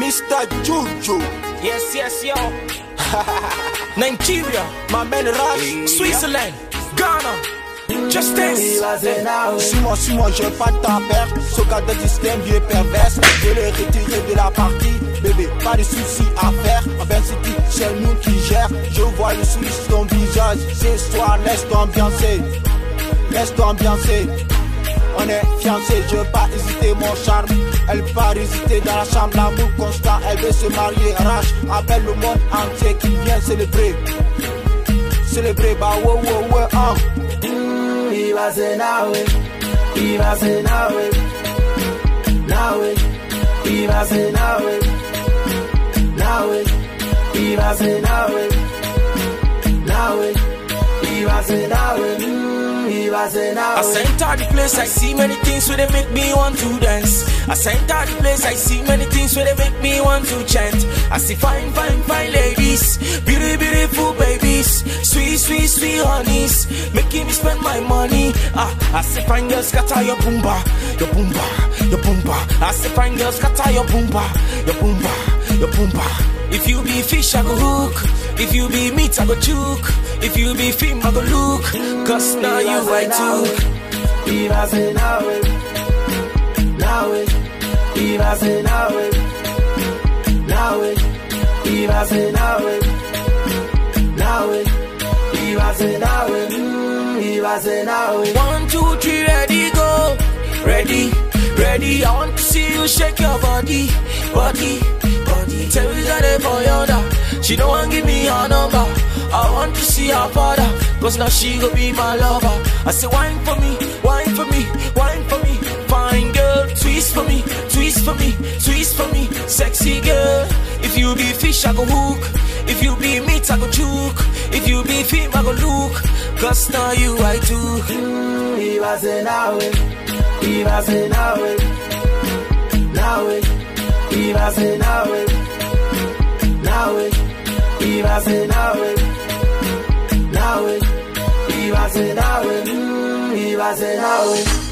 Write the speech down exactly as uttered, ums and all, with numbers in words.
Mister Juju. Yes, yes, yo. Nigeria, my man Rush, Switzerland, Ghana. Just dance. Suis-moi, suis-moi, j'ai pas ta perte. Ce gars de système vieux perverse. Je l'ai retiré de la partie. Bébé, pas de soucis à faire. Ben City, c'est nous qui gère. Je vois le sourire sur ton visage. Ce soir, laisse t'ambiancer. Laisse t'ambiancer. On est fiancés, je veux pas hésiter mon charme. Elle part hésiter dans la chambre, l'amour constant. Elle veut se marier, Rush. Appelle le monde entier qui vient célébrer. Célébrer, bah wow wow wow ah. He was a now he was a now now he was a now now he was a now now he was a now he was a now. I sent out the place, I see many things where they make me want to dance. I sent out the place, I see many things where they make me want to chant. I see fine, fine, fine ladies, beauty, beautiful babies, sweet, sweet, sweet honeys, making me spend my money. Ah, I see fine girls scatter your boomba, your boomba, your boomba. I see fine girls scatter your boomba, your boomba, your boomba. If you be fish, I go hook. If you be meat, I go choke. If you be film, I go look. Cause now you I too. He was a now now he was a now now he was a now now he was a now he was a now. One, two, three, ready, go. Ready, ready. I want to see you shake your body, body, body. Tell me that for yonder. She don't want give me her number. I want to see her father, cause now she gon' be my lover. I say wine for me, wine for me, wine for me. Fine girl, twist for me, twist for me, twist for me. Sexy girl, if you be fish I go hook. If you be meat I go choke. If you be film I go look. Cause now you I too. mm, He was a now he was a now now he was a now now he was a now now he was a now he was a now.